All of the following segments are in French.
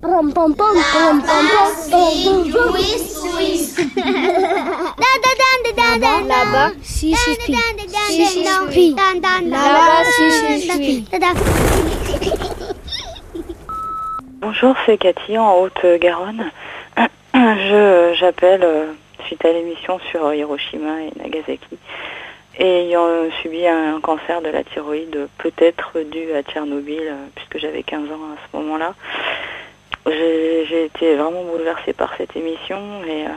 Pom pom pom pom pom pom Là-bas, si je suis. Là-bas, si je suis. Bonjour, c'est Cathy en Haute-Garonne. J'appelle suite à l'émission sur Hiroshima et Nagasaki. Et ayant subi un cancer de la thyroïde, peut-être dû à Tchernobyl, puisque j'avais 15 ans à ce moment-là. J'ai été vraiment bouleversée par cette émission et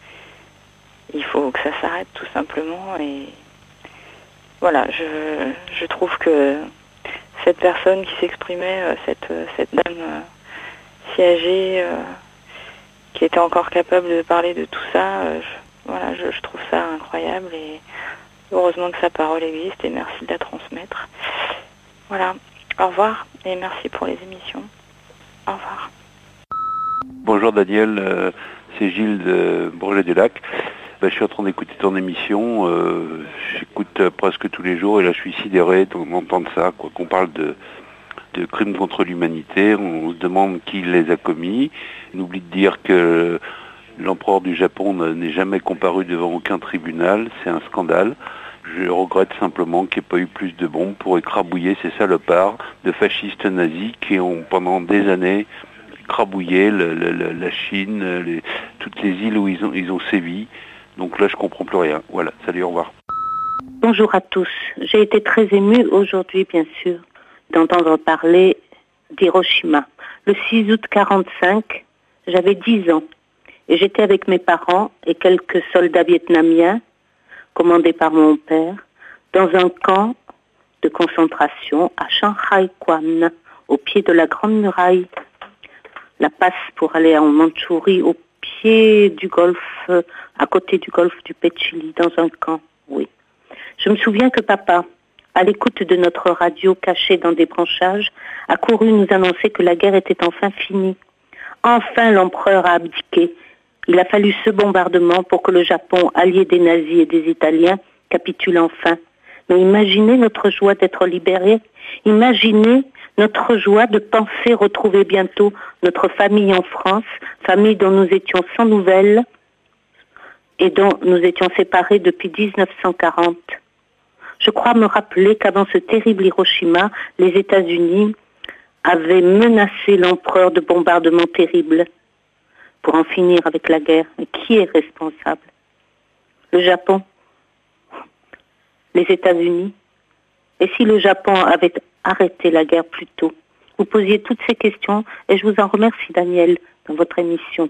il faut que ça s'arrête tout simplement. Et voilà, je trouve que cette personne qui s'exprimait, cette dame si âgée, qui était encore capable de parler de tout ça, je trouve ça incroyable et heureusement que sa parole existe et merci de la transmettre. Voilà, au revoir et merci pour les émissions. Au revoir. Bonjour Daniel, c'est Gilles de Bourget-du-Lac. Je suis en train d'écouter ton émission, j'écoute presque tous les jours et là je suis sidéré d'entendre ça, qu'on parle de crimes contre l'humanité, on se demande qui les a commis. On oublie de dire que l'empereur du Japon n'est jamais comparu devant aucun tribunal, c'est un scandale. Je regrette simplement qu'il n'y ait pas eu plus de bombes pour écrabouiller ces salopards de fascistes nazis qui ont pendant des années écrabouillé la Chine, toutes les îles où ils ont sévi. Donc là je comprends plus rien. Voilà, salut, au revoir. Bonjour à tous. J'ai été très émue aujourd'hui, bien sûr, d'entendre parler d'Hiroshima. Le 6 août 1945, j'avais 10 ans et j'étais avec mes parents et quelques soldats vietnamiens, commandés par mon père, dans un camp de concentration à Shanghai Kwan, au pied de la Grande Muraille. La passe pour aller en Mandchourie, au pied du golfe, à côté du golfe du Petchili, dans un camp, oui. Je me souviens que papa, à l'écoute de notre radio cachée dans des branchages, a couru nous annoncer que la guerre était enfin finie. Enfin, l'empereur a abdiqué. Il a fallu ce bombardement pour que le Japon, allié des nazis et des Italiens, capitule enfin. Mais imaginez notre joie d'être libérés. Imaginez notre joie de penser retrouver bientôt notre famille en France, famille dont nous étions sans nouvelles et dont nous étions séparés depuis 1940. Je crois me rappeler qu'avant ce terrible Hiroshima, les États-Unis avaient menacé l'empereur de bombardements terribles pour en finir avec la guerre. Mais qui est responsable? Le Japon? Les États-Unis? Et si le Japon avait arrêté la guerre plus tôt? Vous posiez toutes ces questions et je vous en remercie, Daniel, dans votre émission.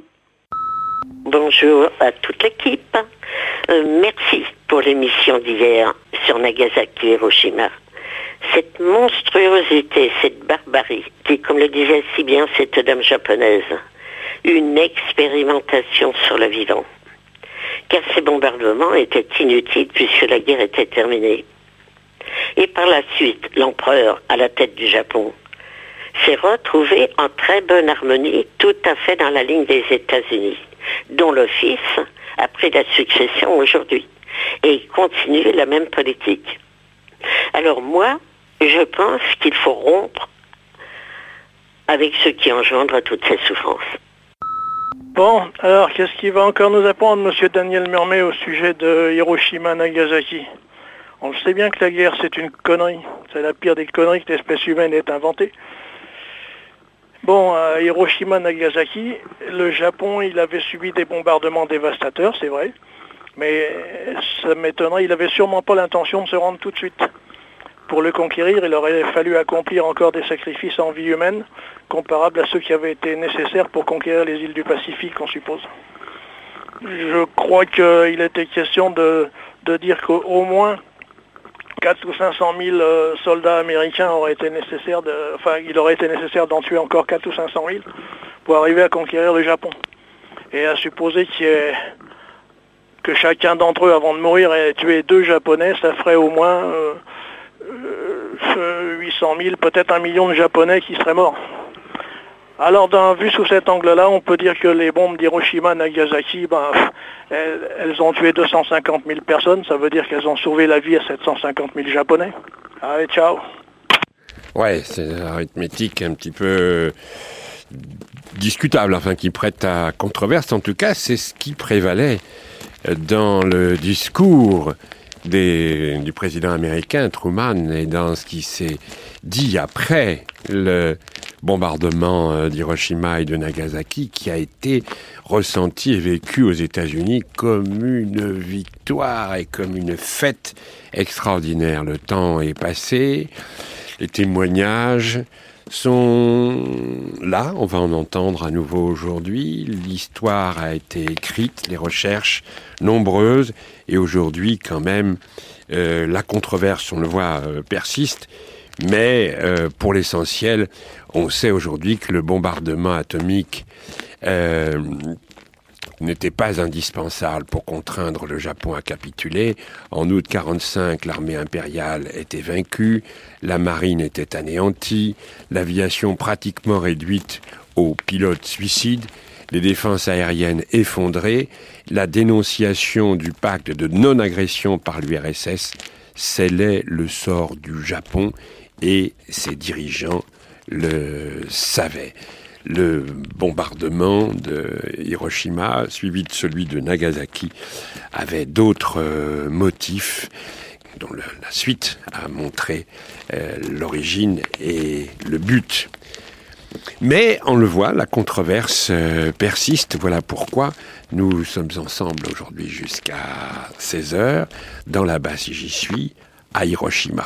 Bonjour à toute l'équipe. Merci pour l'émission d'hier sur Nagasaki et Hiroshima. Cette monstruosité, cette barbarie, qui, comme le disait si bien cette dame japonaise, une expérimentation sur le vivant. Car ces bombardements étaient inutiles puisque la guerre était terminée. Et par la suite, l'empereur, à la tête du Japon, s'est retrouvé en très bonne harmonie, tout à fait dans la ligne des États-Unis, dont le fils a pris la succession aujourd'hui. Et il continue la même politique. Alors moi, je pense qu'il faut rompre avec ce qui engendre toutes ces souffrances. Bon, alors qu'est-ce qu'il va encore nous apprendre, monsieur Daniel Murmet, au sujet de Hiroshima-Nagasaki? On sait bien que la guerre, c'est une connerie. C'est la pire des conneries que l'espèce humaine ait inventée. Bon, à Hiroshima-Nagasaki, le Japon, il avait subi des bombardements dévastateurs, c'est vrai. Mais ça m'étonnerait, il n'avait sûrement pas l'intention de se rendre tout de suite. Pour le conquérir, il aurait fallu accomplir encore des sacrifices en vie humaine, comparables à ceux qui avaient été nécessaires pour conquérir les îles du Pacifique, on suppose. Je crois qu'il était question de dire qu'au moins 4 ou 500 000 soldats américains auraient été nécessaires, il aurait été nécessaire d'en tuer encore 4 ou 500 000 pour arriver à conquérir le Japon. Et à supposer que chacun d'entre eux, avant de mourir, ait tué 2 Japonais, ça ferait au moins 800 000, peut-être 1 million de Japonais qui seraient morts. Alors, vu sous cet angle-là, on peut dire que les bombes d'Hiroshima, Nagasaki, elles ont tué 250 000 personnes. Ça veut dire qu'elles ont sauvé la vie à 750 000 Japonais. Allez, ciao. Ouais, c'est une arithmétique un petit peu discutable, enfin qui prête à controverse. En tout cas, c'est ce qui prévalait dans le discours du président américain Truman et dans ce qui s'est dit après le bombardement d'Hiroshima et de Nagasaki, qui a été ressenti et vécu aux États-Unis comme une victoire et comme une fête extraordinaire. Le temps est passé, les témoignages sont là, on va en entendre à nouveau aujourd'hui. L'histoire a été écrite, les recherches nombreuses, et aujourd'hui quand même la controverse, on le voit, persiste, mais pour l'essentiel, on sait aujourd'hui que le bombardement atomique n'était pas indispensable pour contraindre le Japon à capituler. En août 1945, l'armée impériale était vaincue, la marine était anéantie, l'aviation pratiquement réduite aux pilotes suicides, les défenses aériennes effondrées, la dénonciation du pacte de non-agression par l'URSS scellait le sort du Japon et ses dirigeants le savaient. Le bombardement de Hiroshima, suivi de celui de Nagasaki, avait d'autres motifs dont la suite a montré l'origine et le but. Mais, on le voit, la controverse persiste. Voilà pourquoi nous sommes ensemble aujourd'hui jusqu'à 16h, dans la base si j'y suis, à Hiroshima.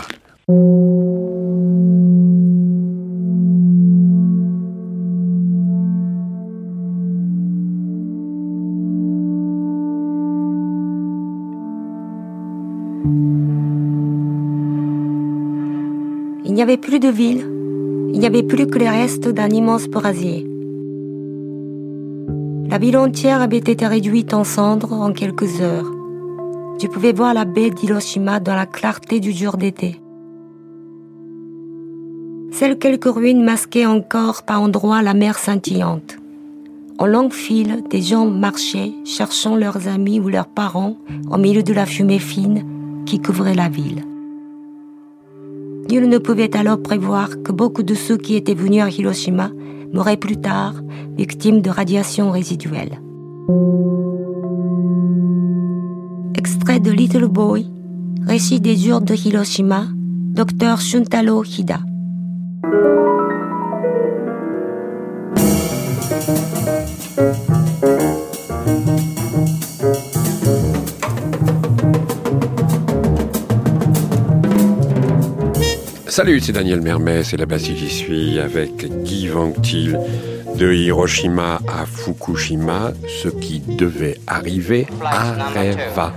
Il n'y avait plus de ville, il n'y avait plus que les restes d'un immense brasier. La ville entière avait été réduite en cendres en quelques heures. Tu pouvais voir la baie d'Hiroshima dans la clarté du jour d'été. Seules quelques ruines masquaient encore par endroits la mer scintillante. En longue file, des gens marchaient, cherchant leurs amis ou leurs parents au milieu de la fumée fine qui couvrait la ville. Nul ne pouvait alors prévoir que beaucoup de ceux qui étaient venus à Hiroshima mourraient plus tard, victimes de radiations résiduelles. Extrait de Little Boy, récit des jours de Hiroshima, Dr Shuntaro Hida. Salut, c'est Daniel Mermet, c'est là-bas si j'y suis, avec Guy Vanctil de Hiroshima à Fukushima. Ce qui devait arriver arriva.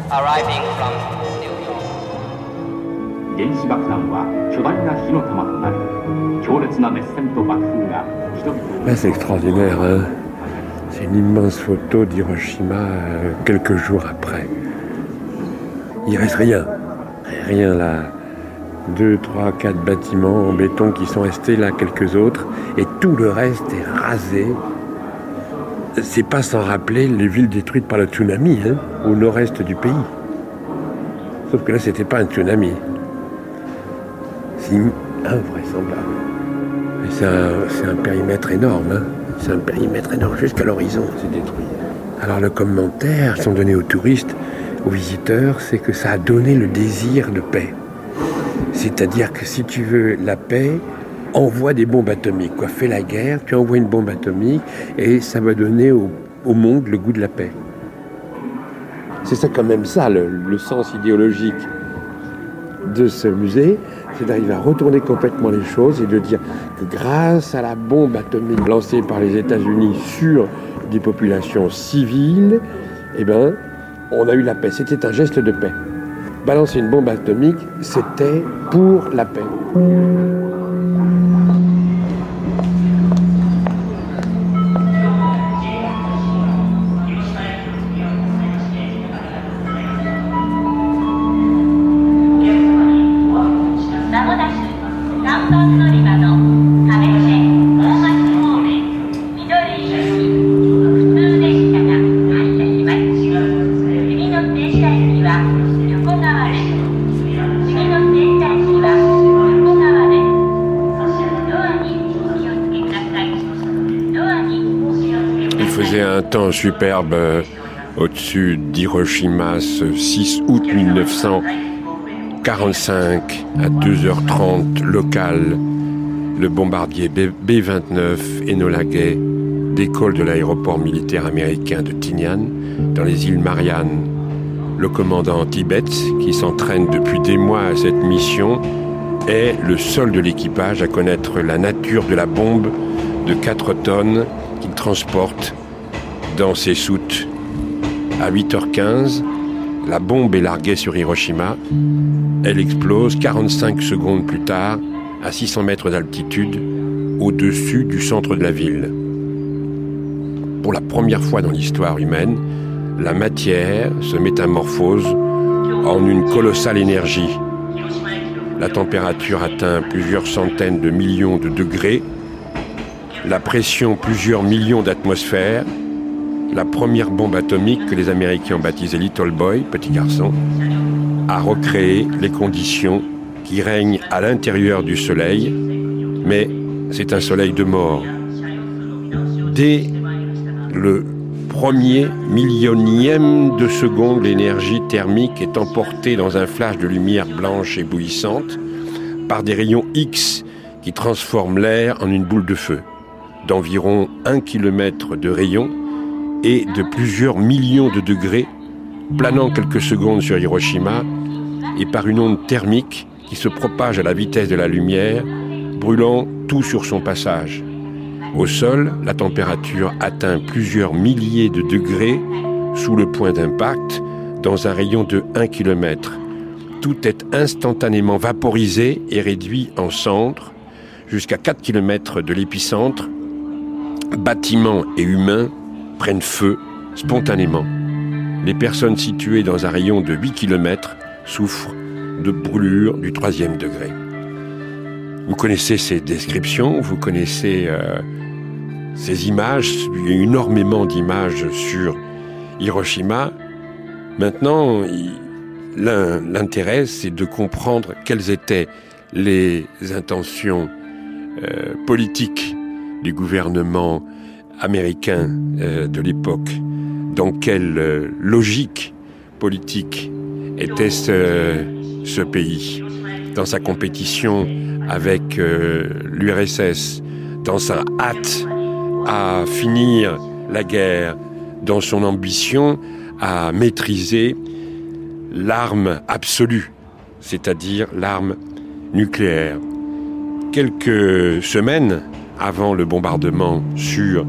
C'est extraordinaire, hein. C'est une immense photo d'Hiroshima quelques jours après. Il reste rien là. 2, 3, 4 bâtiments en béton qui sont restés là, quelques autres, et tout le reste est rasé. C'est pas sans rappeler les villes détruites par le tsunami, hein, au nord-est du pays. Sauf que là, c'était pas un tsunami. C'est invraisemblable. Et c'est un périmètre énorme, hein. C'est un périmètre énorme, jusqu'à l'horizon, c'est détruit. Alors le commentaire qu'ils sont donnés aux touristes, aux visiteurs, c'est que ça a donné le désir de paix. C'est-à-dire que si tu veux la paix, envoie des bombes atomiques. Fais la guerre, tu envoies une bombe atomique et ça va donner au monde le goût de la paix. C'est ça quand même ça, le sens idéologique de ce musée, c'est d'arriver à retourner complètement les choses et de dire que grâce à la bombe atomique lancée par les États-Unis sur des populations civiles, on a eu la paix. C'était un geste de paix. Balancer une bombe atomique, c'était pour la paix. faisait un temps superbe au-dessus d'Hiroshima ce 6 août 1945 à 2h30 local. Le bombardier B-29 Enola Gay décolle de l'aéroport militaire américain de Tinian dans les îles Mariannes. Le commandant Tibet, qui s'entraîne depuis des mois à cette mission, est le seul de l'équipage à connaître la nature de la bombe de 4 tonnes qu'il transporte dans ses soutes. À 8h15, la bombe est larguée sur Hiroshima. Elle explose 45 secondes plus tard, à 600 mètres d'altitude, au-dessus du centre de la ville. Pour la première fois dans l'histoire humaine, la matière se métamorphose en une colossale énergie. La température atteint plusieurs centaines de millions de degrés, la pression plusieurs millions d'atmosphères. La première bombe atomique que les Américains ont baptisée Little Boy, petit garçon, a recréé les conditions qui règnent à l'intérieur du Soleil, mais c'est un soleil de mort. Dès le premier millionième de seconde, l'énergie thermique est emportée dans un flash de lumière blanche éblouissante par des rayons X qui transforment l'air en une boule de feu d'environ 1 km de rayon et de plusieurs millions de degrés, planant quelques secondes sur Hiroshima et par une onde thermique qui se propage à la vitesse de la lumière, brûlant tout sur son passage. Au sol, la température atteint plusieurs milliers de degrés sous le point d'impact dans un rayon de 1 km. Tout est instantanément vaporisé et réduit en cendres. Jusqu'à 4 km de l'épicentre, bâtiments et humains prennent feu spontanément. Les personnes situées dans un rayon de 8 km souffrent de brûlures du 3e degré. Vous connaissez ces descriptions, vous connaissez ces images, il y a énormément d'images sur Hiroshima. Maintenant, l'intérêt, c'est de comprendre quelles étaient les intentions politiques du gouvernement américain de l'époque. Dans quelle logique politique était ce pays, dans sa compétition avec l'URSS, dans sa hâte à finir la guerre, dans son ambition à maîtriser l'arme absolue, c'est-à-dire l'arme nucléaire. Quelques semaines avant le bombardement sur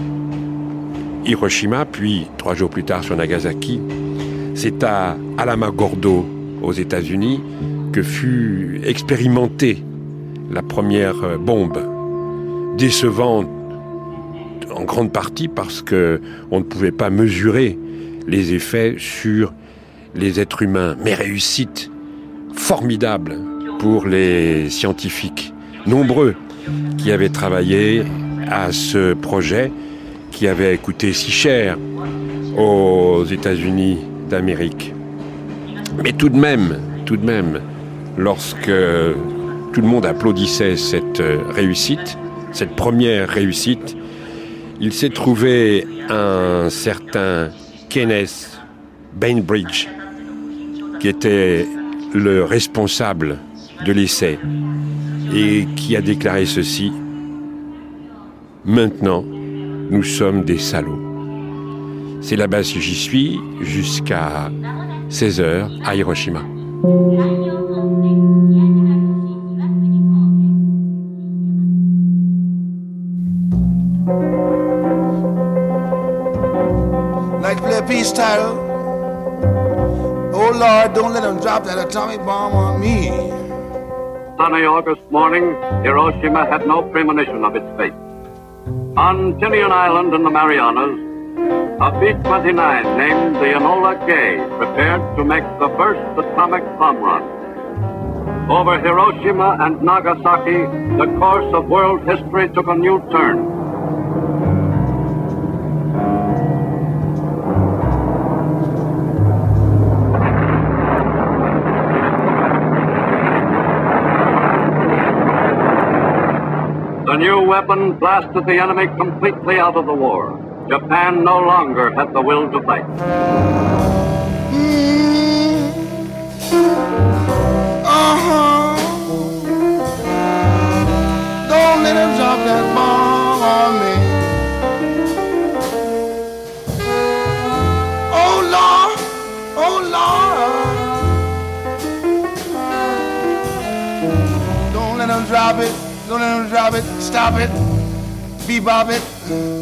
Hiroshima, puis 3 jours plus tard sur Nagasaki, c'est à Alamogordo, aux États-Unis, que fut expérimentée la première bombe, décevante en grande partie parce qu'on ne pouvait pas mesurer les effets sur les êtres humains, mais réussite formidable pour les scientifiques, nombreux qui avaient travaillé à ce projet qui avait coûté si cher aux États-Unis d'Amérique. Mais tout de même, lorsque tout le monde applaudissait cette réussite, cette première réussite, il s'est trouvé un certain Kenneth Bainbridge, qui était le responsable de l'essai, et qui a déclaré ceci: « Maintenant, nous sommes des salauds. » C'est là-bas que j'y suis jusqu'à 16h à Hiroshima. Like to play a peace title. Oh Lord, don't let them drop that atomic bomb on me. Sunny August morning, Hiroshima had no premonition of its fate. On Tinian Island in the Marianas, a B-29 named the Enola Gay prepared to make the first atomic bomb run. Over Hiroshima and Nagasaki, the course of world history took a new turn. The new weapon blasted the enemy completely out of the war. Japan no longer had the will to fight. Don't let him drop that bomb on me. Oh Lord, oh Lord. Don't let him drop it, don't let him drop it, stop it, bebop it.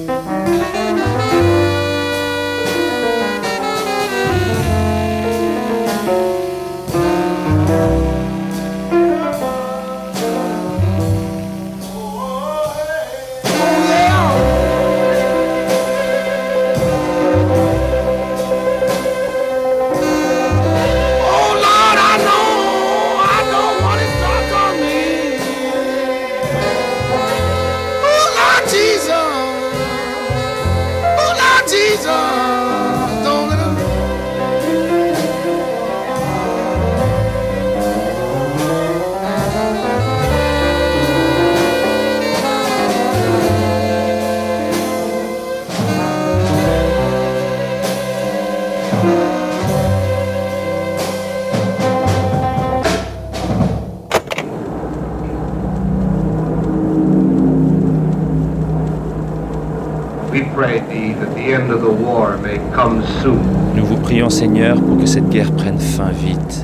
Nous vous prions, Seigneur, pour que cette guerre prenne fin vite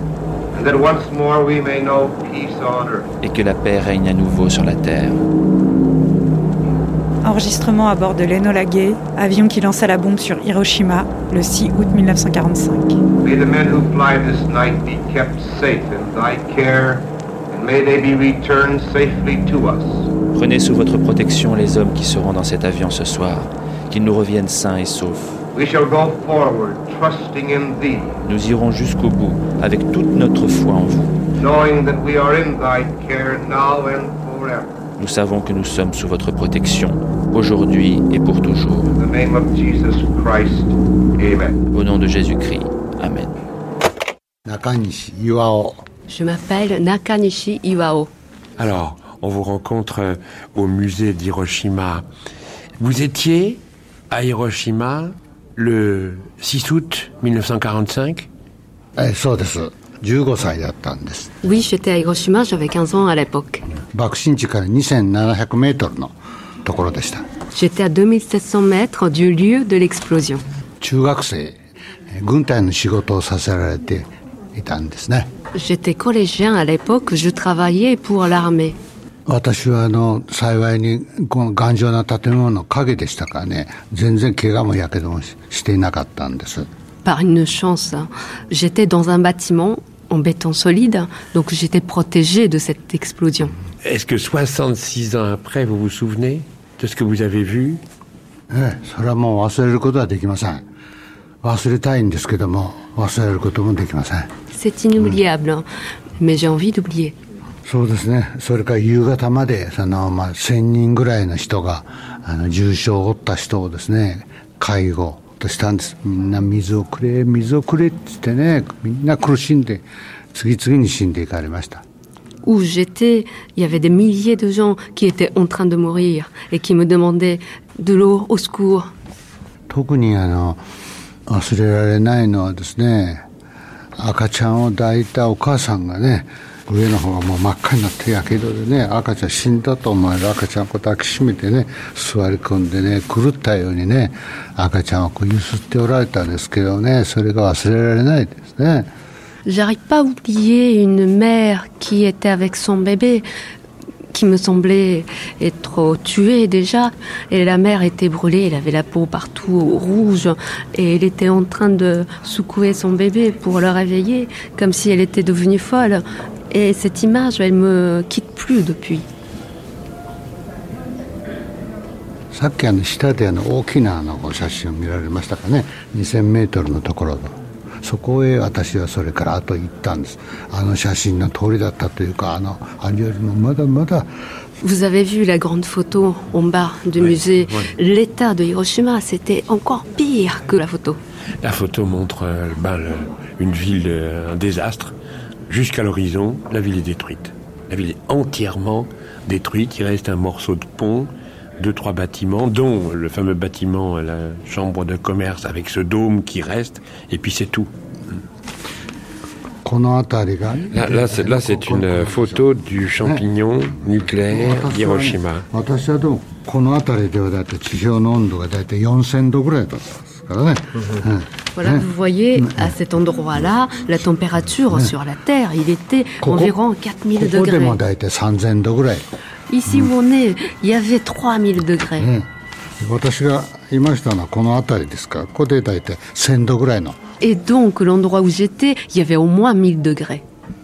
et que la paix règne à nouveau sur la terre. Enregistrement à bord de l'Enola Gay, avion qui lança la bombe sur Hiroshima le 6 août 1945. May the men who fly this night be kept safe in thy care, and may they be returned safely to us. Prenez sous votre protection les hommes qui seront dans cet avion ce soir, qu'ils nous reviennent sains et saufs. We shall go forward, trusting in thee. Nous irons jusqu'au bout, avec toute notre foi en vous. Knowing that we are in thy care now and forever. Nous savons que nous sommes sous votre protection, aujourd'hui et pour toujours. In the name of Jesus Christ, amen. Au nom de Jésus-Christ, amen. Nakanishi Iwao. Je m'appelle Nakanishi Iwao. Alors, on vous rencontre au musée d'Hiroshima. Vous étiez à Hiroshima le 6 août 1945 Oui, j'étais à Hiroshima, j'avais 15 ans à l'époque. J'étais à 2700 mètres du lieu de l'explosion. J'étais collégien à l'époque, je travaillais pour l'armée. Par une chance, j'étais dans un bâtiment en béton solide, donc j'étais protégée de cette explosion. Est-ce que 66 ans après, vous vous souvenez de ce que vous avez vu? C'est inoubliable, mais j'ai envie d'oublier. そうですね。それから夕方まで1000人ぐらいの人が重傷を負った人をですね介護としたんです。みんな水をくれって言ってね、みんな苦しんで次々に死んでいかれました。 Où j'étais, il y avait des milliers de gens qui étaient en train de mourir et qui me demandaient de l'eau, au secours. 特に忘れられないのはですね、赤ちゃんを抱いたお母さんがね。上の方がもう真っ赤になってやけどでね、赤ちゃん死んだと思える赤ちゃんを抱きしめてね、座り込んでね、狂ったようにね、赤ちゃんをこう揺すっておられたんですけどね、それが忘れられないですね。 J'arrive pas à oublier une mère qui était avec son bébé, qui me semblait être tuée déjà, et la mère était brûlée, elle avait la peau partout rouge, et elle était en train de secouer son bébé pour le réveiller, comme si elle était devenue folle. Et cette image, elle me quitte plus depuis. さっき下で大きな写真を見られましたかね。2000メートルのところ。そこへ私はそれから後行ったんです。写真の通りだったというか、あれよりもまだまだ。 Vous avez vu la grande photo en bas du musée. L'état de Hiroshima, c'était encore pire que la photo. La photo montre une ville, un désastre. Jusqu'à l'horizon, la ville est détruite. La ville est entièrement détruite. Il reste un morceau de pont 2-3 bâtiments, dont le fameux bâtiment, la chambre de commerce avec ce dôme qui reste, et puis c'est tout. Là, c'est une photo du champignon nucléaire d'Hiroshima. Voilà, vous voyez, à cet endroit-là, la température sur la Terre, il était environ 4000 degrés. Ici où on est, il y avait 3000 degrés. Et donc, l'endroit où j'étais, il y avait au moins 1000 degrés.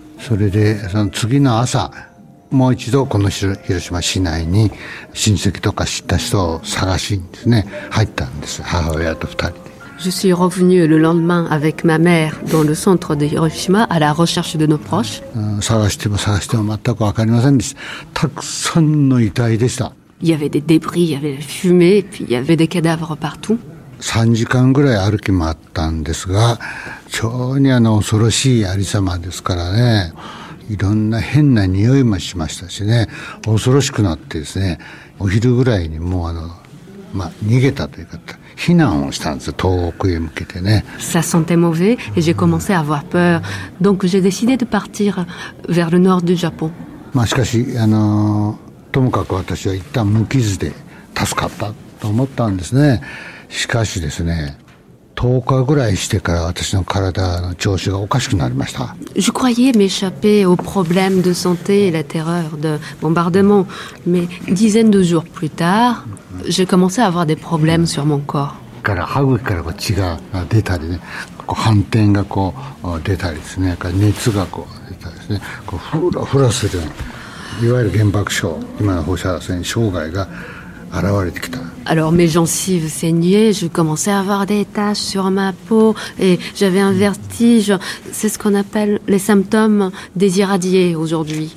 もう一度この広島市内に親戚とか知った人を探しにですね入ったんです。母親と2人で。 Je suis revenu le lendemain avec ma mère dans le centre de Hiroshima à la recherche de nos proches. 探しても全く分かりませんでした。たくさんの遺体でした。 Il y avait des débris, il y avait la fumée, et puis il y avait des cadavres partout. 3時間ぐらい歩き回ったんですが、非常に恐ろしいありさまですからね。いろんな変な匂いもしましたしね、恐ろしくなってですね、お昼ぐらいにもう逃げたというか避難をしたんですよ、遠くへ向けてね。 Ça sentait mauvais et j'ai commencé à avoir peur. Donc j'ai décidé de partir vers le nord du Japon. しかしともかく私は一旦無傷で助かったと思ったんですね。しかしですね。10日ぐらいしてから私の体の調子がおかしくなりました。 Je croyais m'échapper aux problèmes de santé et la terreur de bombardement, mais une dizaine de jours plus tard, j'ai commencé à avoir des problèmes sur mon corps. から歯茎から血が出たりね、斑点が出たりですね、熱が出たりですね、フラフラするようないわゆる原爆症、今の放射線障害が Alors mes gencives saignaient, je commençais à avoir des taches sur ma peau et j'avais un vertige. C'est ce qu'on appelle les symptômes des irradiés aujourd'hui.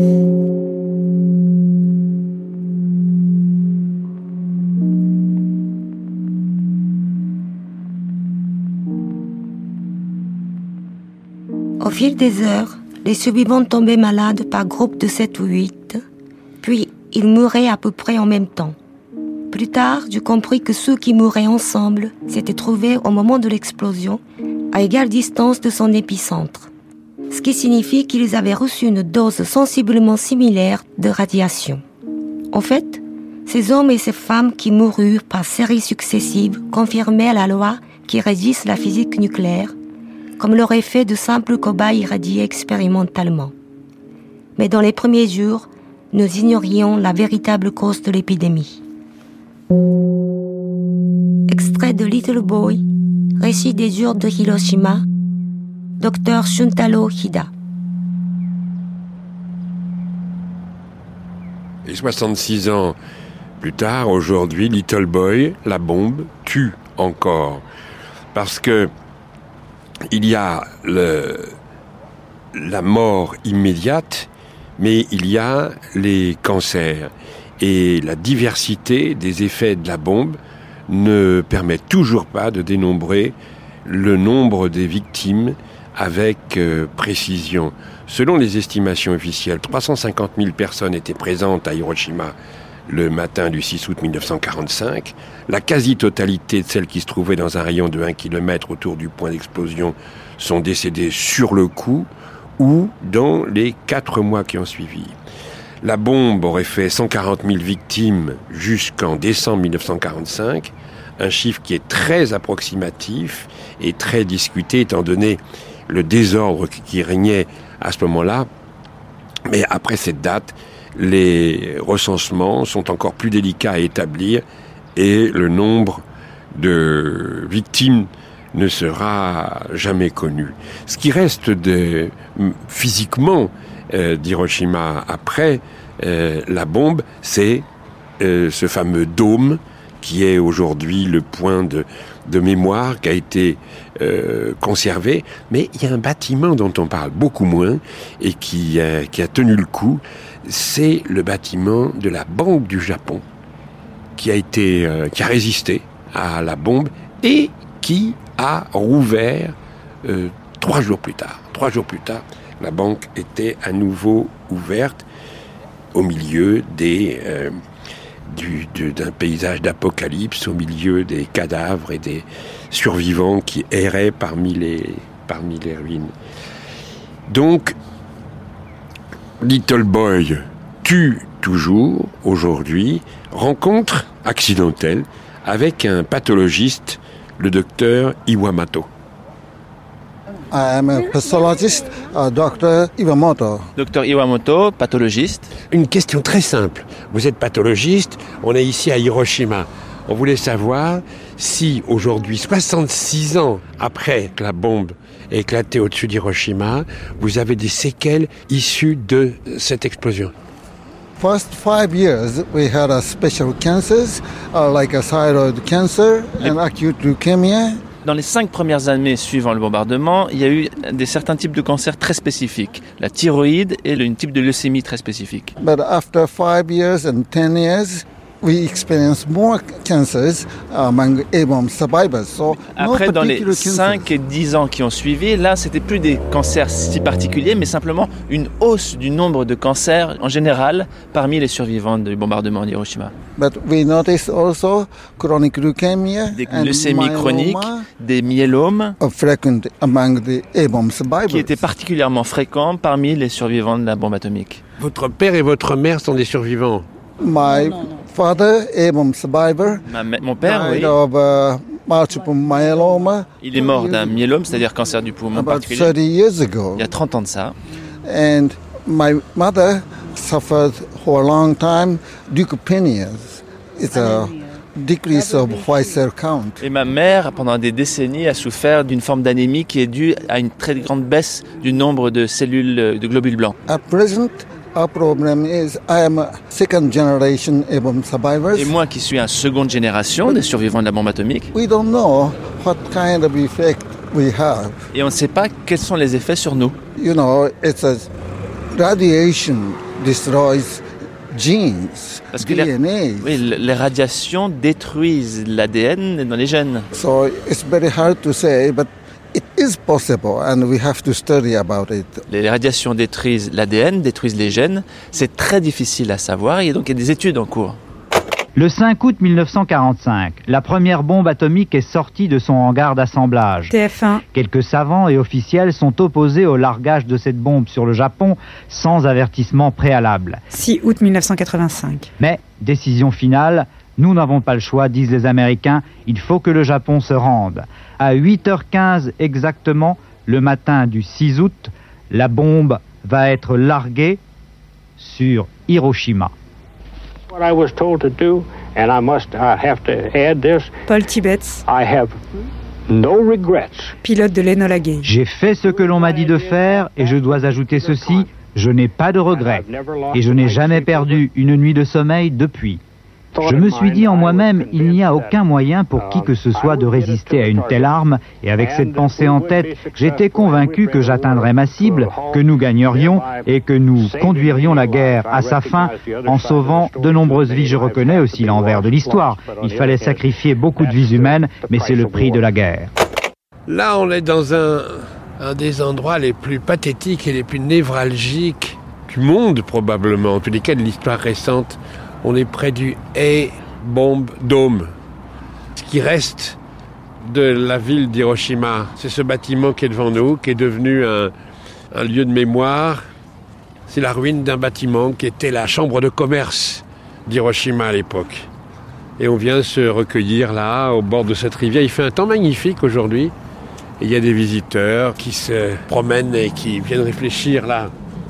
Au fil des heures, les survivants tombaient malades par groupe de 7 ou 8, puis ils mouraient à peu près en même temps. Plus tard, j'ai compris que ceux qui mouraient ensemble s'étaient trouvés au moment de l'explosion à égale distance de son épicentre, ce qui signifie qu'ils avaient reçu une dose sensiblement similaire de radiation. En fait, ces hommes et ces femmes qui moururent par séries successives confirmaient la loi qui régisse la physique nucléaire, comme l'auraient fait de simples cobayes irradiés expérimentalement. Mais dans les premiers jours, nous ignorions la véritable cause de l'épidémie. Extrait de Little Boy, récit des jours de Hiroshima, Dr Shuntaro Hida. Et 66 ans plus tard, aujourd'hui, Little Boy, la bombe, tue encore. Parce que il y a la mort immédiate, mais il y a les cancers. Et la diversité des effets de la bombe ne permet toujours pas de dénombrer le nombre des victimes avec précision. Selon les estimations officielles, 350 000 personnes étaient présentes à Hiroshima le matin du 6 août 1945. La quasi-totalité de celles qui se trouvaient dans un rayon de 1 km autour du point d'explosion sont décédées sur le coup ou dans les 4 mois qui ont suivi. La bombe aurait fait 140 000 victimes jusqu'en décembre 1945, un chiffre qui est très approximatif et très discuté étant donné le désordre qui régnait à ce moment-là. Mais après cette date, les recensements sont encore plus délicats à établir et le nombre de victimes ne sera jamais connu. Ce qui reste physiquement d'Hiroshima après la bombe, c'est ce fameux dôme qui est aujourd'hui le point de mémoire qui a été conservé. Mais il y a un bâtiment dont on parle beaucoup moins et qui a tenu le coup. C'est le bâtiment de la Banque du Japon qui a résisté à la bombe et qui a rouvert 3 jours plus tard. 3 jours plus tard, la banque était à nouveau ouverte au milieu des d'un paysage d'apocalypse au milieu des cadavres et des survivants qui erraient parmi les ruines. Donc, Little Boy tue toujours, aujourd'hui, rencontre accidentelle avec un pathologiste, le docteur Iwamoto. I am a pathologist, Dr. Iwamoto. Docteur Iwamoto, pathologiste. Une question très simple. Vous êtes pathologiste, on est ici à Hiroshima. On voulait savoir si aujourd'hui, 66 ans après que la bombe ait éclaté au-dessus d'Hiroshima, vous avez des séquelles issues de cette explosion. First 5 years, we had a special cancers, like a thyroid cancer and acute leukemia. Dans les 5 premières années suivant le bombardement, il y a eu certains types de cancers très spécifiques. La thyroïde et un type de leucémie très spécifique. But after 5 years and 10 years, we experienced more cancers among A-bomb survivors. So après, dans les 5 et 10 ans qui ont suivi, là, c'était plus des cancers si particuliers, mais simplement une hausse du nombre de cancers en général parmi les survivants du bombardement d'Hiroshima. But we noticed also chronic leukemia des leucémies chroniques, des myélomes frequent among the A-bomb survivors. Qui étaient particulièrement fréquents parmi les survivants de la bombe atomique. Votre père et votre mère sont des survivants? My father, A-bomb survivor, mon père, oui. Of, multiple myeloma. Il est mort d'un myélome, c'est-à-dire cancer du poumon particulier. 30 years ago. Il y a 30 ans de ça. And my mother suffered for a long time leukopenia. It's a decrease of white cell count. Et ma mère, pendant des décennies, a souffert d'une forme d'anémie qui est due à une très grande baisse du nombre de cellules de globules blancs. At present, our problem is I am a second generation A-bomb survivors. Et moi qui suis un seconde génération des survivants de la bombe atomique. We don't know what kind of effect we have. Et on ne sait pas quels sont les effets sur nous. You know, it's a radiation destroys genes, parce que DNA. les radiations détruisent l'ADN dans les gènes. So it's very hard to say, but it is possible and we have to study about it. Les radiations détruisent l'ADN, détruisent les gènes. C'est très difficile à savoir et donc il y a des études en cours. Le 5 août 1945, la première bombe atomique est sortie de son hangar d'assemblage. TF1. Quelques savants et officiels sont opposés au largage de cette bombe sur le Japon sans avertissement préalable. 6 août 1985. Mais, décision finale, nous n'avons pas le choix, disent les Américains, il faut que le Japon se rende. À 8h15 exactement, le matin du 6 août, la bombe va être larguée sur Hiroshima. What I was told to do, and I have to add this. Paul Tibbets. I have no regrets. Pilote de l'Enola Gay. J'ai fait ce que l'on m'a dit de faire et je dois ajouter ceci, je n'ai pas de regrets et je n'ai jamais perdu une nuit de sommeil depuis. Je me suis dit en moi-même, il n'y a aucun moyen pour qui que ce soit de résister à une telle arme, et avec cette pensée en tête, j'étais convaincu que j'atteindrais ma cible, que nous gagnerions et que nous conduirions la guerre à sa fin en sauvant de nombreuses vies. Je reconnais aussi l'envers de l'histoire. Il fallait sacrifier beaucoup de vies humaines, mais c'est le prix de la guerre. Là, on est dans un des endroits les plus pathétiques et les plus névralgiques du monde, probablement, en tous les cas de l'histoire récente. On est près du A-Bomb Dome. Ce qui reste de la ville d'Hiroshima, c'est ce bâtiment qui est devant nous, qui est devenu un lieu de mémoire. C'est la ruine d'un bâtiment qui était la chambre de commerce d'Hiroshima à l'époque. Et on vient se recueillir là, au bord de cette rivière. Il fait un temps magnifique aujourd'hui. Et il y a des visiteurs qui se promènent et qui viennent réfléchir là.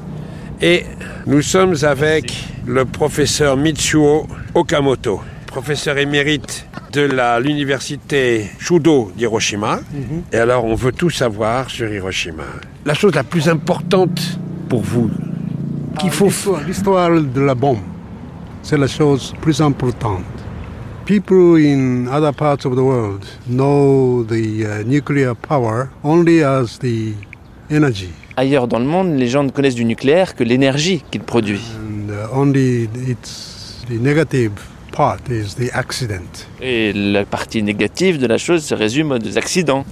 Et nous sommes avec le professeur Mitsuo Okamoto, professeur émérite de l'université Shudo d'Hiroshima. Et alors, on veut tout savoir sur Hiroshima. La chose la plus importante pour vous, qu'il faut... L'histoire de la bombe, c'est la chose plus importante. People in other parts of the world know the nuclear power only as the energy. Ailleurs dans le monde, les gens ne connaissent du nucléaire que l'énergie qu'il produit. Only the negative part is the accident. Et la partie négative de la chose se résume aux accidents.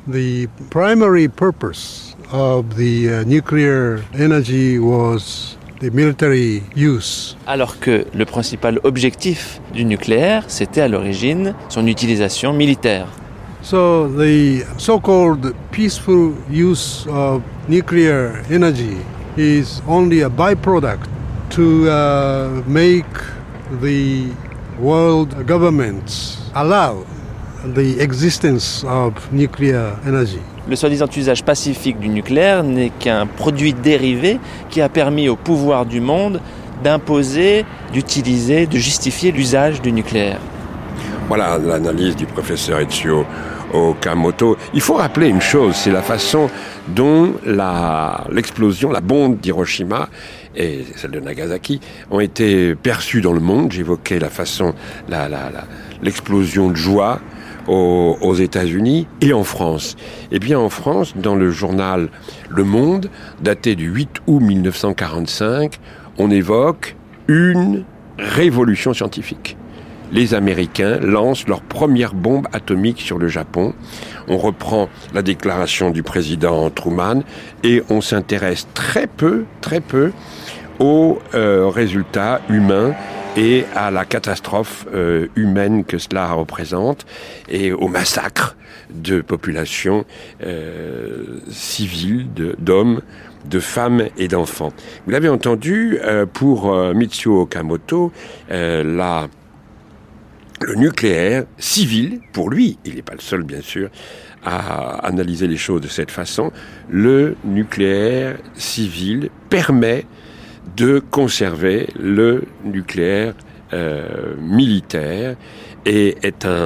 The primary purpose of the nuclear energy was the military use. Alors que le principal objectif du nucléaire, c'était à l'origine son utilisation militaire. So the so-called peaceful use of nuclear energy is only a byproduct to make the world governments allow the existence of nuclear energy. Le soi-disant usage pacifique du nucléaire n'est qu'un produit dérivé qui a permis au pouvoir du monde d'imposer, d'utiliser, de justifier l'usage du nucléaire. Voilà l'analyse du professeur Ichio Okamoto. Il faut rappeler une chose, c'est la façon dont l'explosion, la bombe d'Hiroshima et celle de Nagasaki ont été perçues dans le monde. J'évoquais la façon, l'explosion de joie aux États-Unis et en France. Eh bien, en France, dans le journal Le Monde, daté du 8 août 1945, on évoque une révolution scientifique. Les Américains lancent leur première bombe atomique sur le Japon. On reprend la déclaration du président Truman et on s'intéresse très peu aux résultats humains et à la catastrophe humaine que cela représente et au massacre de populations civiles, d'hommes, de femmes et d'enfants. Vous l'avez entendu, pour Michio Okamoto, le nucléaire civil, pour lui, il n'est pas le seul bien sûr à analyser les choses de cette façon, le nucléaire civil permet de conserver le nucléaire militaire et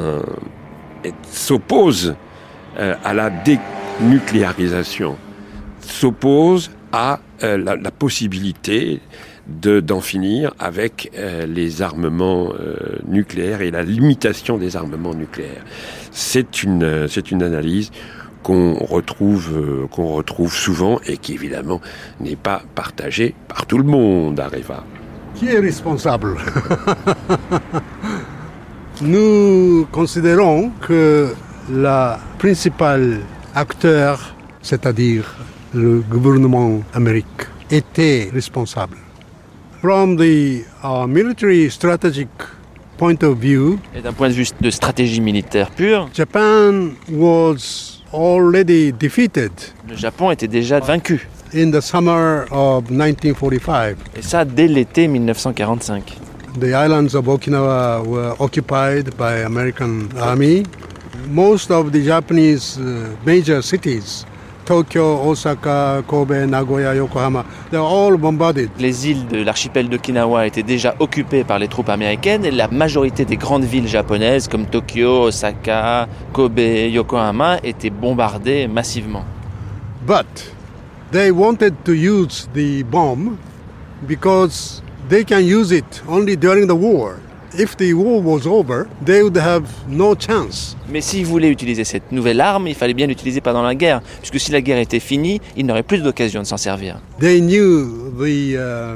s'oppose à la dénucléarisation, s'oppose à la possibilité d'en finir avec les armements nucléaires et la limitation des armements nucléaires. C'est une analyse qu'on retrouve souvent et qui évidemment n'est pas partagée par tout le monde, Areva. Qui est responsable? Nous considérons que le principal acteur, c'est-à-dire le gouvernement américain, était responsable. From the military strategic point of view, et d'un point de vue de stratégie militaire pure, Japan was already defeated. Le Japon était déjà vaincu. In the summer of 1945. Et ça dès l'été 1945. The islands of Okinawa were occupied by American army. Most of the Japanese major cities, Tokyo, Osaka, Kobe, Nagoya, Yokohama, they were all bombarded. Les îles de l'archipel d'Okinawa étaient déjà occupées par les troupes américaines et la majorité des grandes villes japonaises comme Tokyo, Osaka, Kobe, Yokohama étaient bombardées massivement. But they wanted to use the bomb because they can use it only during the war. If the war was over, they would have no chance. Mais s'ils voulaient utiliser cette nouvelle arme, il fallait bien l'utiliser pendant la guerre, puisque si la guerre était finie, ils n'auraient plus d'occasion de s'en servir. They knew the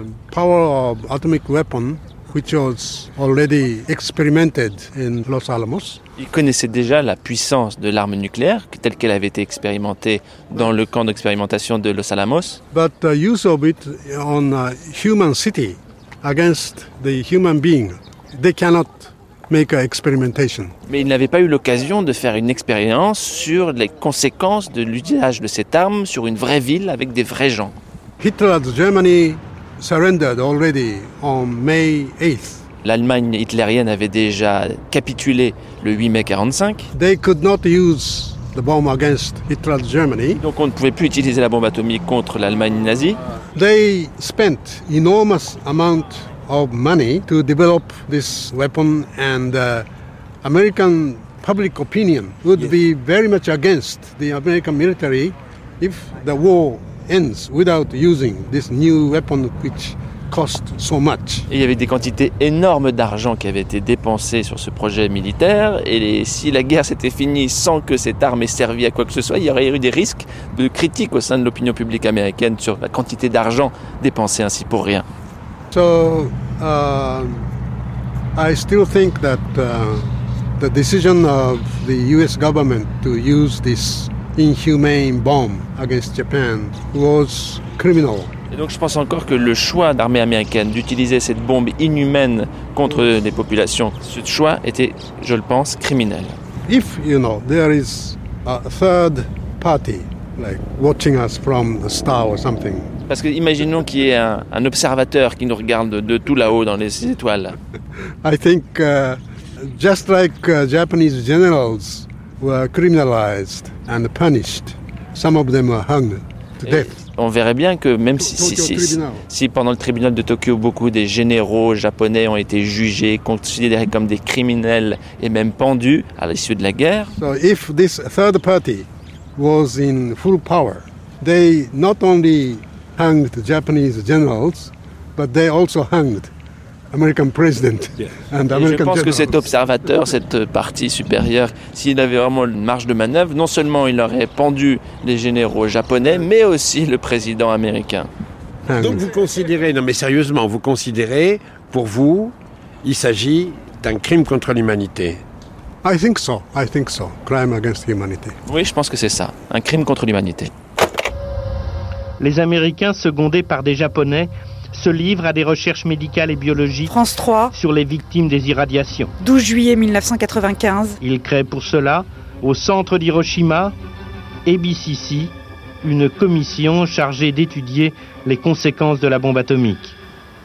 power of atomic weapon, which was already experimented in Los Alamos. Ils connaissaient déjà la puissance de l'arme nucléaire, telle qu'elle avait été expérimentée dans le camp d'expérimentation de Los Alamos. But the use of it on a human city against the human being, they cannot make an experimentation. Mais ils n'avaient pas eu l'occasion de faire une expérience sur les conséquences de l'usage de cette arme sur une vraie ville avec des vrais gens. Hitler's Germany surrendered already on May 8th. L'Allemagne hitlérienne avait déjà capitulé le 8 mai 1945. They could not use the bomb against Hitler's Germany. Donc on ne pouvait plus utiliser la bombe atomique contre l'Allemagne nazie. They spent enormous amount of money to develop this weapon, and American public opinion would be very much against the American military if the war ends without using this new weapon which cost so much. Et il y avait des quantités énormes d'argent qui avaient été dépensées sur ce projet militaire, et si la guerre s'était finie sans que cette arme ait servi à quoi que ce soit, il y aurait eu des risques de critiques au sein de l'opinion publique américaine sur la quantité d'argent dépensée ainsi pour rien. So I still think that the decision of the US government to use this inhumane bomb against Japan was criminal. Et donc je pense encore que le choix d'armée américaine d'utiliser cette bombe inhumaine contre les populations, ce choix était, je le pense, criminel. If, there is a third party, like watching us from the star or something. Parce que imaginons qu'il y ait un observateur qui nous regarde de tout là-haut dans les étoiles. I think just like Japanese generals were criminalized and punished, some of them were hung to death. On verrait bien que même si pendant le tribunal de Tokyo, beaucoup des généraux japonais ont été jugés, considérés comme des criminels et même pendus à l'issue de la guerre. So if this third party was in full power, they not only hanged the Japanese generals, but they also hanged American president and American je pense generals. Que cet observateur, cette partie supérieure, s'il avait vraiment une marge de manœuvre, non seulement il aurait pendu les généraux japonais, mais aussi le président américain. Donc vous considérez, non mais sérieusement, vous considérez, pour vous, il s'agit d'un crime contre l'humanité? I think so. Crime against humanity. Oui, je pense que c'est ça, un crime contre l'humanité. Les Américains, secondés par des Japonais, se livrent à des recherches médicales et biologiques France 3, sur les victimes des irradiations. 12 juillet 1995. Ils créent pour cela, au centre d'Hiroshima, ABCC, une commission chargée d'étudier les conséquences de la bombe atomique.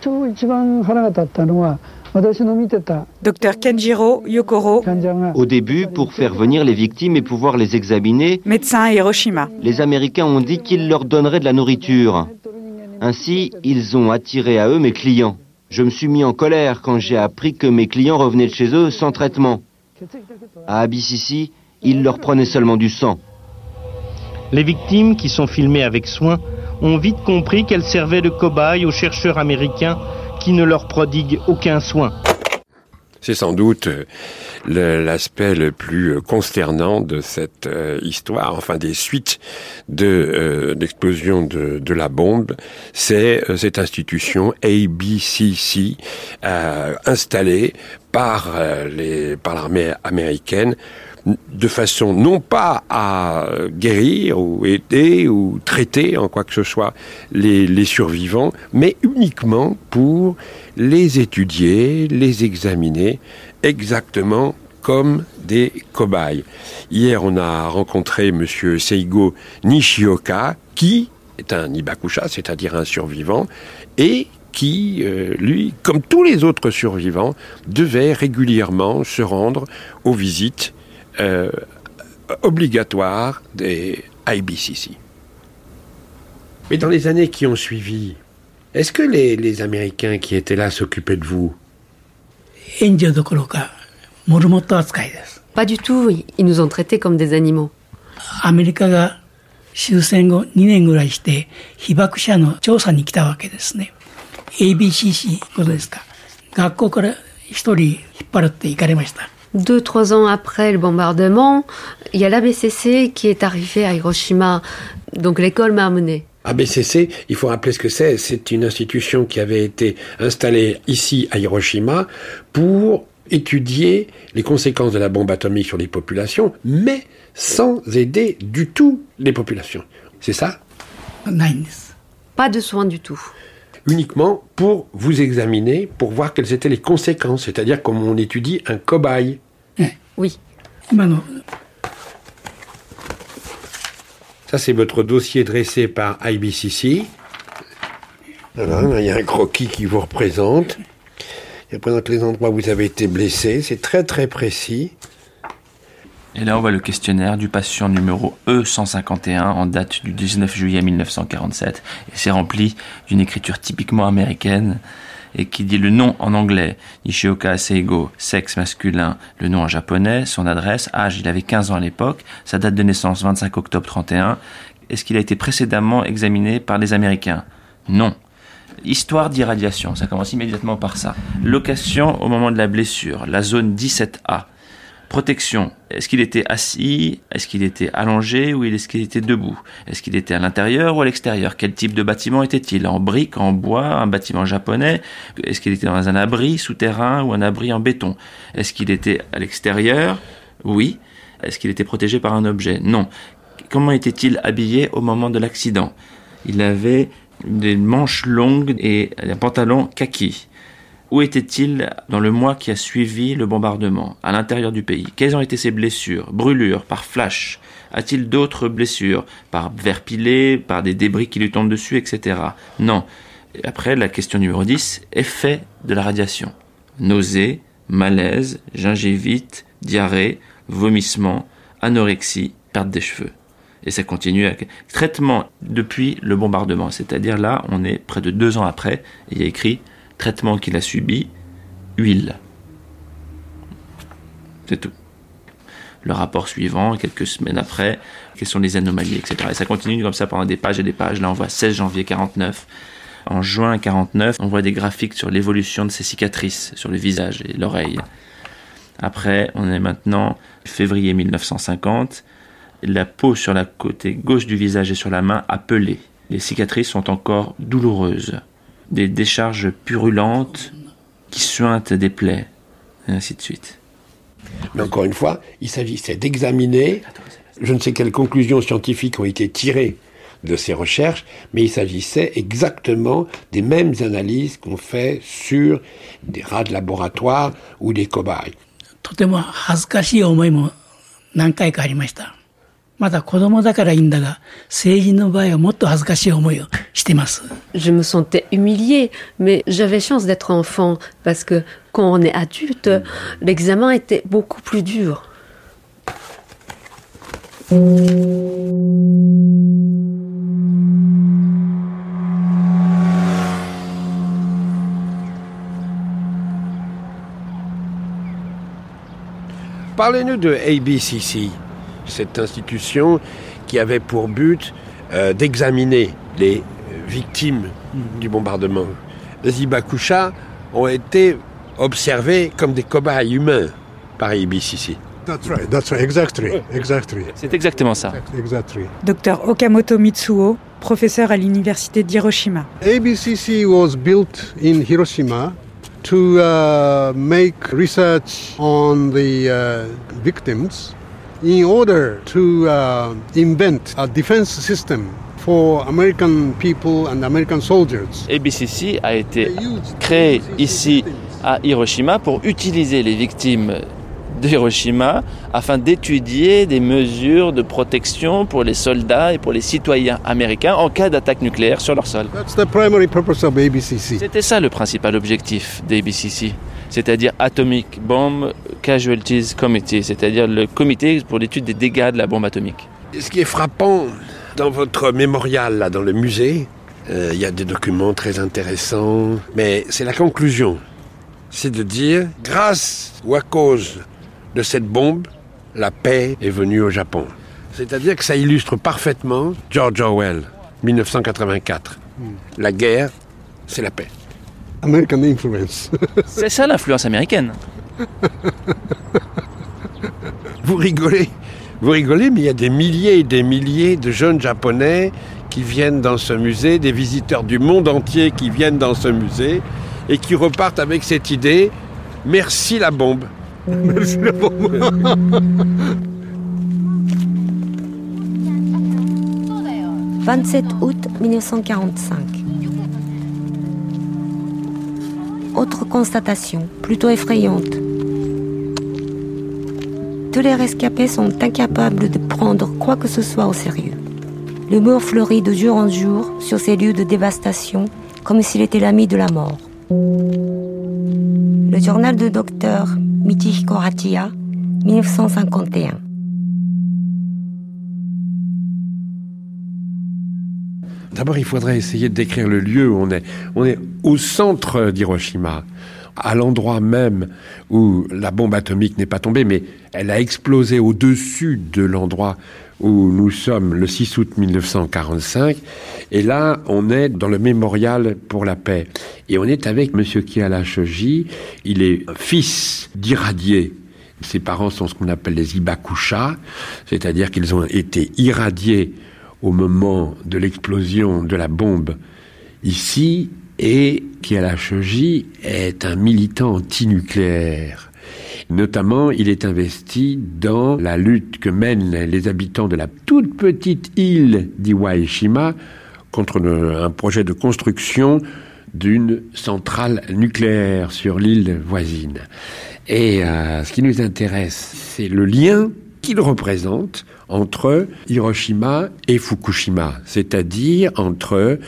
Dr Kenjiro Yokoro. Au début, pour faire venir les victimes et pouvoir les examiner, médecin à Hiroshima. Les Américains ont dit qu'ils leur donneraient de la nourriture. Ainsi, ils ont attiré à eux mes clients. Je me suis mis en colère quand j'ai appris que mes clients revenaient de chez eux sans traitement. À ABCC, ils leur prenaient seulement du sang. Les victimes, qui sont filmées avec soin, ont vite compris qu'elles servaient de cobayes aux chercheurs américains qui ne leur prodiguent aucun soin. C'est sans doute l'aspect le plus consternant de cette histoire, enfin des suites de l'explosion de la bombe, c'est cette institution ABCC installée par l'armée américaine de façon non pas à guérir ou aider ou traiter en quoi que ce soit les survivants, mais uniquement pour les étudier, les examiner exactement comme des cobayes. Hier, on a rencontré monsieur Seigo Nishioka, qui est un Hibakusha, c'est-à-dire un survivant, et qui, lui, comme tous les autres survivants, devait régulièrement se rendre aux visites obligatoire des IBCC. Mais dans les années qui ont suivi, est-ce que les Américains qui étaient là s'occupaient de vous? Pas du tout, ils nous ont traités comme des animaux. ABCC 2-3 ans après le bombardement, il y a l'ABCC qui est arrivé à Hiroshima. Donc l'école m'a amené. ABCC, il faut rappeler ce que c'est. C'est une institution qui avait été installée ici à Hiroshima pour étudier les conséquences de la bombe atomique sur les populations, mais sans aider du tout les populations. C'est ça? Pas de soins du tout. Uniquement pour vous examiner, pour voir quelles étaient les conséquences, c'est-à-dire comme on étudie un cobaye. Oui. Ça, c'est votre dossier dressé par IBCC. Voilà, il y a un croquis qui vous représente. Il représente les endroits où vous avez été blessé. C'est très, très précis. Et là, on voit le questionnaire du patient numéro E151 en date du 19 juillet 1947. Et c'est rempli d'une écriture typiquement américaine et qui dit le nom en anglais, Nishioka Seigo, sexe masculin, le nom en japonais, son adresse, âge, il avait 15 ans à l'époque, sa date de naissance 25 octobre 31. Est-ce qu'il a été précédemment examiné par les Américains? Non. Histoire d'irradiation, ça commence immédiatement par ça. Location au moment de la blessure, la zone 17A. Protection, est-ce qu'il était assis, est-ce qu'il était allongé ou est-ce qu'il était debout? Est-ce qu'il était à l'intérieur ou à l'extérieur? Quel type de bâtiment était-il? En briques, en bois, un bâtiment japonais? Est-ce qu'il était dans un abri souterrain ou un abri en béton? Est-ce qu'il était à l'extérieur? Oui. Est-ce qu'il était protégé par un objet? Non. Comment était-il habillé au moment de l'accident? Il avait des manches longues et un pantalon kaki. Où était-il dans le mois qui a suivi le bombardement, à l'intérieur du pays? Quelles ont été ses blessures? Brûlures, par flash? A-t-il d'autres blessures? Par verre pilé, par des débris qui lui tombent dessus, etc. Non. Et après, la question numéro 10, effet de la radiation. Nausées, malaise, gingivite, diarrhée, vomissement, anorexie, perte des cheveux. Et ça continue avec traitement depuis le bombardement. C'est-à-dire là, on est près de 2 ans après, et il y a écrit traitement qu'il a subi, huile. C'est tout. Le rapport suivant, quelques semaines après, quelles sont les anomalies, etc. Et ça continue comme ça pendant des pages et des pages. Là, on voit 16 janvier 49. En juin 49, on voit des graphiques sur l'évolution de ses cicatrices sur le visage et l'oreille. Après, on est maintenant février 1950. La peau sur la côté gauche du visage et sur la main a pelé. Les cicatrices sont encore douloureuses. Des décharges purulentes qui suintent des plaies, et ainsi de suite. Mais encore une fois, il s'agissait d'examiner, je ne sais quelles conclusions scientifiques ont été tirées de ces recherches, mais il s'agissait exactement des mêmes analyses qu'on fait sur des rats de laboratoire ou des cobayes. とても恥ずかしい思いも何回かありました。まだ子供だからいいんだが、成人の場合はもっと恥ずかしい思いをしています。 Je me sentais humiliée, mais j'avais chance d'être enfant, parce que quand on est adulte, l'examen était beaucoup plus dur. Parlez-nous de ABCC, cette institution qui avait pour but d'examiner les victimes du bombardement. Les Hibakusha ont été observés comme des cobayes humains par ABCC. That's right, exactly. C'est exactement ça. Exactly. Dr Okamoto Mitsuo, professeur à l'université d'Hiroshima. ABCC was built in Hiroshima to make research on the victims in order to invent a defense system for American people and American soldiers. ABCC a été créé ici à Hiroshima pour utiliser les victimes de Hiroshima afin d'étudier des mesures de protection pour les soldats et pour les citoyens américains en cas d'attaque nucléaire sur leur sol. That's the primary purpose of ABCC. C'était ça le principal objectif d'ABCC, c'est-à-dire Atomic Bomb Casualties Committee, c'est-à-dire le comité pour l'étude des dégâts de la bombe atomique. Ce qui est frappant dans votre mémorial, là, dans le musée, il y a des documents très intéressants, mais c'est la conclusion. C'est de dire, grâce ou à cause de cette bombe, la paix est venue au Japon. C'est-à-dire que ça illustre parfaitement George Orwell, 1984. La guerre, c'est la paix. American influence. C'est ça l'influence américaine. Vous rigolez, mais il y a des milliers et des milliers de jeunes Japonais qui viennent dans ce musée, des visiteurs du monde entier qui viennent dans ce musée et qui repartent avec cette idée, merci la bombe. Merci la bombe. 27 août 1945. Autre constatation, plutôt effrayante. Tous les rescapés sont incapables de prendre quoi que ce soit au sérieux. L'humour fleurit de jour en jour sur ces lieux de dévastation, comme s'il était l'ami de la mort. Le journal de Dr Michihiko Hachiya, 1951. D'abord, il faudrait essayer de décrire le lieu où on est. On est au centre d'Hiroshima, à l'endroit même où la bombe atomique n'est pas tombée, mais elle a explosé au-dessus de l'endroit où nous sommes le 6 août 1945. Et là, on est dans le mémorial pour la paix. Et on est avec M. Kiala Shoji. Il est fils d'irradiés. Ses parents sont ce qu'on appelle les Hibakusha, c'est-à-dire qu'ils ont été irradiés au moment de l'explosion de la bombe ici, et Kiala Shoji est un militant antinucléaire. Notamment, il est investi dans la lutte que mènent les habitants de la toute petite île d'Iwaishima, contre un projet de construction d'une centrale nucléaire sur l'île voisine. Et ce qui nous intéresse, c'est le lien qu'il représente entre Hiroshima et Fukushima, c'est-à-dire entre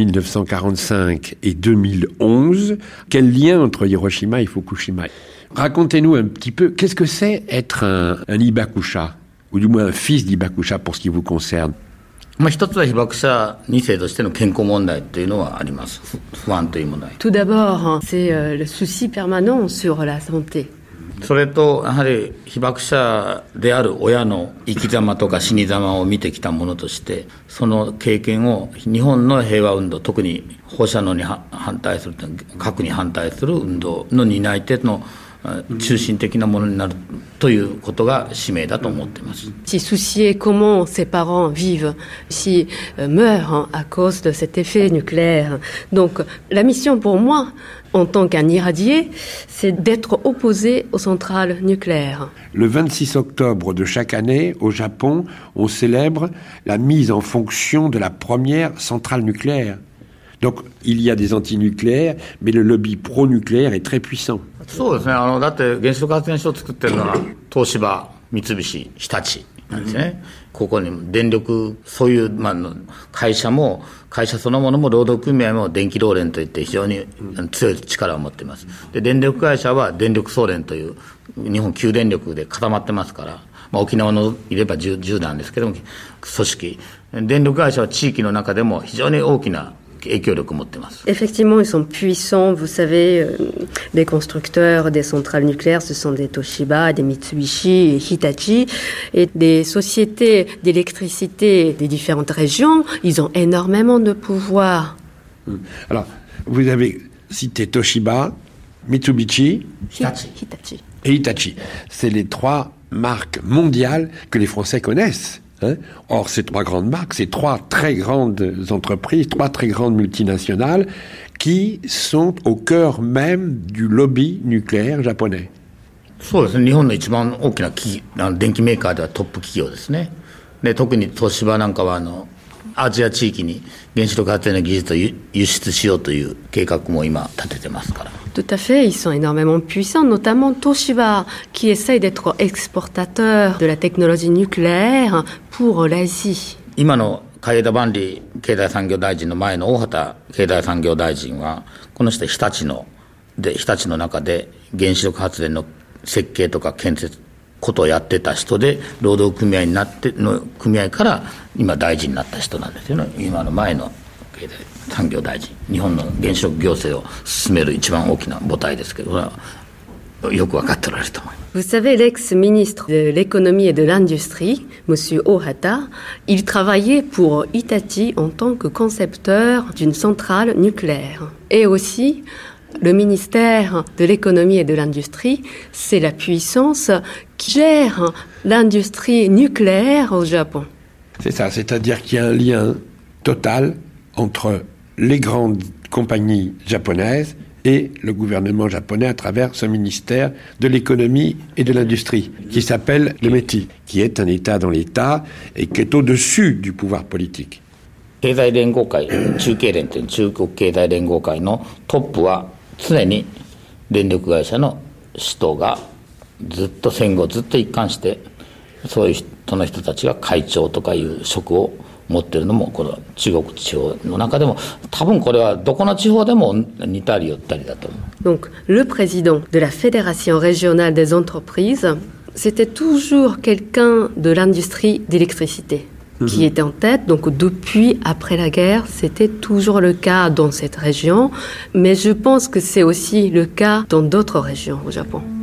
1945 et 2011. Quel lien entre Hiroshima et Fukushima? Racontez-nous un petit peu, qu'est-ce que c'est être un Hibakusha, ou du moins un fils d'Hibakusha pour ce qui vous concerne? 一つは被爆者2世としての健康問題というのはあります。不安という問題。 Tout d'abord, c'est le souci permanent sur la santé. それとやはり被爆者である親の生き様とか死に様を見てきたものとして、その経験を日本の平和運動、特に放射能に反対する、核に反対する運動の担い手の中心的なものになるということが使命だと思っています。 Si soucier comment ses parents vivent, si meurent à cause de cet effet nucléaire. Donc la mission pour moi, en tant qu'un irradié, c'est d'être opposé aux centrales nucléaires. Le 26 octobre de chaque année, au Japon, on célèbre la mise en fonction de la première centrale nucléaire. Donc, il y a des antinucléaires, mais le lobby pro-nucléaire est très puissant. そうですね。だって原子力発電所を作ってるのは東芝、三菱、日立なんですね。ここに電力、そういう、会社そのものも労働組合も電気労連といって非常に強い力を持っています。で、電力会社は電力総連という日本旧電力で固まってますから、沖縄のいれば10なんですけども、組織。電力会社は地域の中でも非常に大きな Effectivement, ils sont puissants. Vous savez, les constructeurs des centrales nucléaires, ce sont des Toshiba, des Mitsubishi et Hitachi. Et des sociétés d'électricité des différentes régions, ils ont énormément de pouvoir. Alors, vous avez cité Toshiba, Mitsubishi, Hitachi. Et Hitachi. C'est les trois marques mondiales que les Français connaissent. Or, ces trois grandes marques, ces trois très grandes entreprises, trois très grandes multinationales qui sont au cœur même du lobby nucléaire japonais. そうですね。日本の一番大きな電機メーカーではトップ企業ですね。で、特に東芝なんかはアジア地域に原子力発電の技術を輸出しようという計画も今立ててますから。 Tout à fait, ils sont énormément puissants, notamment Toshiba, qui essaye d'être exportateur de la technologie nucléaire pour l'Asie. 今の海江田万里経済産業大臣の前の大畑経済産業大臣は、この人日立の中で原子力発電の設計とか建設ことをやってた人で、労働組合になっての組合から今大臣になった人なんですよね。今の前の経済産業大臣、日本の原子力行政を進める一番大きな母体ですけど、よく分かっておられると思います。 Vous savez, l'ex-ministre de l'économie et de l'industrie, M. Ohata, il travaillait pour Hitachi en tant que concepteur d'une centrale nucléaire. Et aussi, le ministère de l'économie et de l'industrie, c'est la puissance qui gère l'industrie nucléaire au Japon. C'est ça, c'est-à-dire qu'il y a un lien total entre les grandes compagnies japonaises et le gouvernement japonais à travers ce ministère de l'économie et de l'industrie, qui s'appelle le METI, qui est un État dans l'État et qui est au-dessus du pouvoir politique. 経済連合会、中経連という中国経済連合会のトップは常に電力会社の首頭がずっと戦後ずっと一貫してそういう人の人たちが会長とかいう職を持っているのもこの中国地方の中でも多分これはどこの地方でも似たり寄ったりだと思う。 Donc le président de la Fédération régionale des entreprises, c'était toujours quelqu'un de l'industrie d'électricité qui était en tête. Donc depuis après la guerre, c'était toujours le cas dans cette région, mais je pense que c'est aussi le cas dans d'autres régions au Japon.